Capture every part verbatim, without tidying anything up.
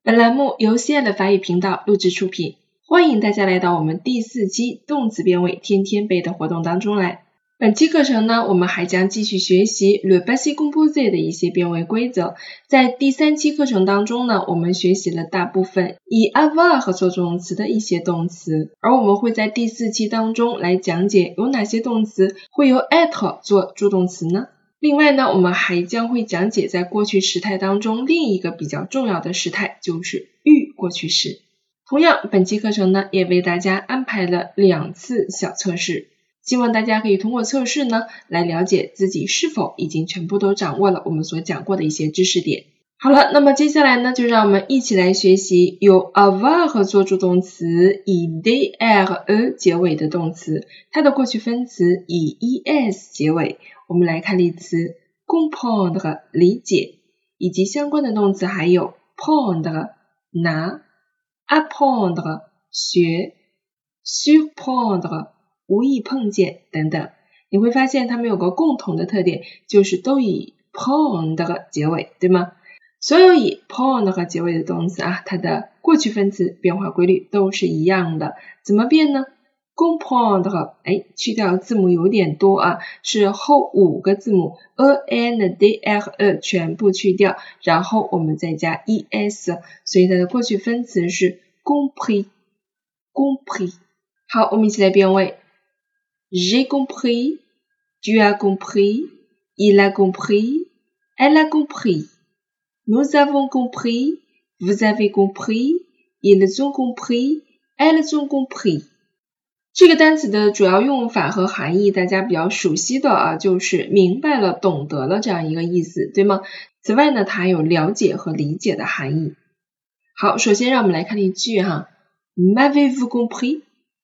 本栏目由 C L 法语频道录制出品，欢迎大家来到我们第四期动词变位天天背的活动当中来。本期课程呢，我们还将继续学习 le passé composé 的一些变位规则。在第三期课程当中呢，我们学习了大部分以 avoir 做助动词的一些动词，而我们会在第四期当中来讲解有哪些动词会由 être 做助动词呢？另外呢，我们还将会讲解在过去时态当中另一个比较重要的时态，就是预过去时。同样，本期课程呢，也为大家安排了两次小测试，希望大家可以通过测试呢，来了解自己是否已经全部都掌握了我们所讲过的一些知识点。好了，那么接下来呢，就让我们一起来学习有 avoir 做助动词以 de、er、e 结尾的动词，它的过去分词以 es 结尾。我们来看例词 comprendre 理解，以及相关的动词还有 prendre 拿， apprendre 学， surprendre 无意碰见等等。你会发现它们有个共同的特点，就是都以 prendre 结尾，对吗？所有以 prendre 结尾的动词啊，它的过去分词变化规律都是一样的。怎么变呢？comprendre 哎，去掉字母有点多啊，是后五个字母 e n d r e 全部去掉，然后我们再加 es， 所以它的过去分词是 compris compris。 好，我们一起来变位。 J'ai compris, tu as compris, il a compris, elle a compris, nous avons compris, vous avez compris, ils ont compris, elles ont compris。这个单词的主要用法和含义大家比较熟悉的啊，就是明白了、懂得了这样一个意思，对吗？此外呢，它还有了解和理解的含义。好，首先让我们来看例句哈 ，M'avez-vous compris?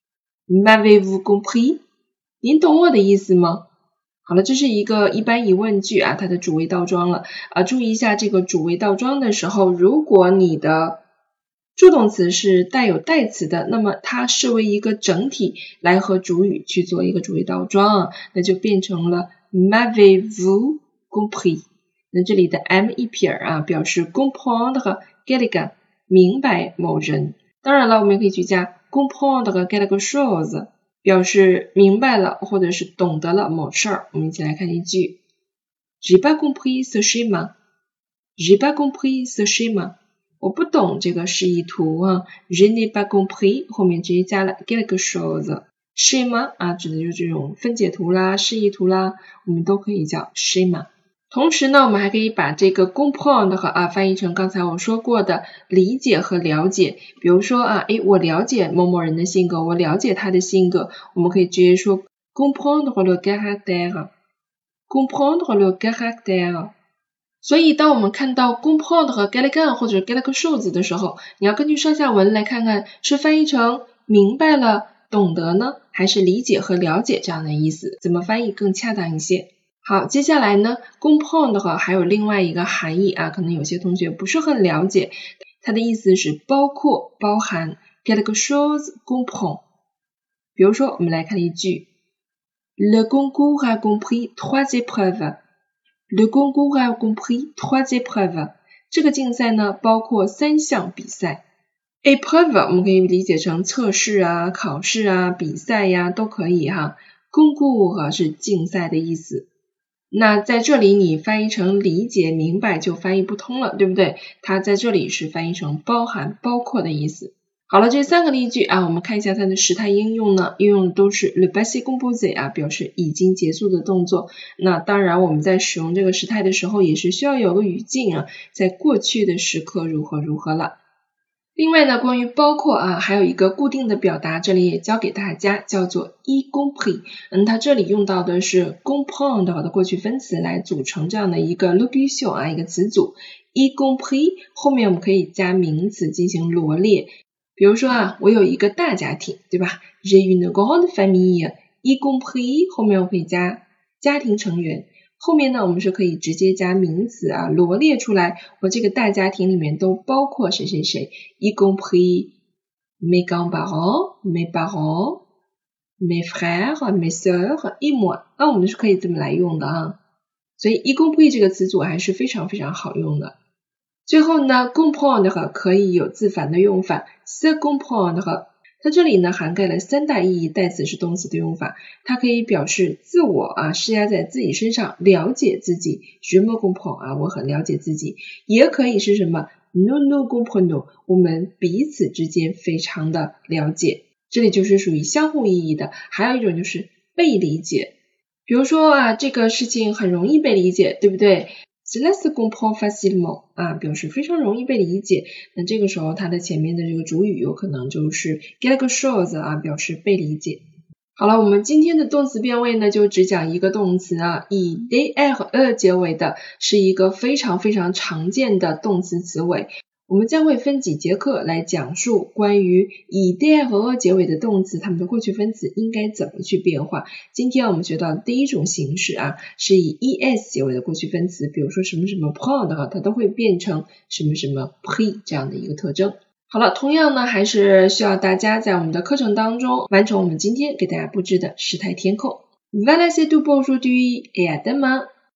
M'avez-vous compris? 您懂我的意思吗？好了，这是一个一般疑问句啊，它的主谓倒装了啊。注意一下这个主谓倒装的时候，如果你的助动词是带有代词的，那么它视为一个整体来和主语去做一个主谓倒装，那就变成了 M'avez-vous compris？ 那这里的 m 一撇啊，表示 comprendre quelqu'un 明白某人。当然了，我们也可以去加 comprendre quelque chose 表示明白了或者是懂得了某事儿。我们一起来看一句 J'ai pas compris ce schéma J'ai pas compris ce schéma我不懂这个示意图啊 Je n'ai pas compris 后面直接加了 quelque chose schéma 啊，指的就是这种分解图啦、示意图啦，我们都可以叫 schéma。 同时呢，我们还可以把这个 comprendre 和啊翻译成刚才我说过的理解和了解。比如说啊，诶，我了解某某人的性格，我了解他的性格，我们可以直接说 comprendre le caractère comprendre le caractère。所以当我们看到 comprendre 和 quelqu'un 或者 quelque chose 的时候，你要根据上下文来看看是翻译成明白了、懂得呢，还是理解和了解这样的意思，怎么翻译更恰当一些。好，接下来呢 comprendre 还有另外一个含义啊，可能有些同学不是很了解，它的意思是包括、包含 quelque chose comprend。 比如说我们来看一句 Le concours a compris trois épreuves Le concours a compris trois épreuves 这个竞赛呢包括三项比赛。 épreuve 我们可以理解成测试啊、考试啊、比赛呀都可以哈。concours 是竞赛的意思，那在这里你翻译成理解、明白就翻译不通了，对不对？它在这里是翻译成包含、包括的意思。好了，这三个例句啊，我们看一下它的时态应用呢，应用都是 le passé composé 啊，表示已经结束的动作。那当然我们在使用这个时态的时候也是需要有个语境啊，在过去的时刻如何如何了。另外呢，关于包括啊，还有一个固定的表达，这里也教给大家，叫做 y compris。嗯，它这里用到的是 comprendre 的过去分词来组成这样的一个 locution 啊，一个词组。y compris 后面我们可以加名词进行罗列。比如说啊，我有一个大家庭，对吧 ？J'ai une grande famille, y compris 后面我可以加家庭成员。后面呢，我们是可以直接加名词啊，罗列出来，我这个大家庭里面都包括谁谁谁 y compris mes grands-parents, mes parents, mes frères, mes sœurs, et moi。那我们是可以这么来用的啊。所以 y compris 这个词组还是非常非常好用的。 最后呢 comprendre 可以有自反的用法 se comprendre， 它这里呢涵盖了三大意义，代词是动词的用法，它可以表示自我啊，施压在自己身上，了解自己 je me comprends 啊，我很了解自己，也可以是什么 nous nous comprenons， 我们彼此之间非常的了解，这里就是属于相互意义的。还有一种就是被理解，比如说啊，这个事情很容易被理解，对不对？Cela se comprend facilement 啊，表示非常容易被理解。那这个时候它的前面的这个主语有可能就是 quelque chose 啊，表示被理解。好了，我们今天的动词变位呢，就只讲一个动词啊，以 der 结尾的，是一个非常非常常见的动词词尾。我们将会分几节课来讲述关于以 der 结尾的动词，它们的过去分词应该怎么去变化。今天我们学到的第一种形式啊，是以 es 结尾的过去分词，比如说什么什么 prendre， 它都会变成什么什么 pris 这样的一个特征。好了，同样呢，还是需要大家在我们的课程当中完成我们今天给大家布置的时态填空。Voilà c'est tout pour aujourd'hui et à demain!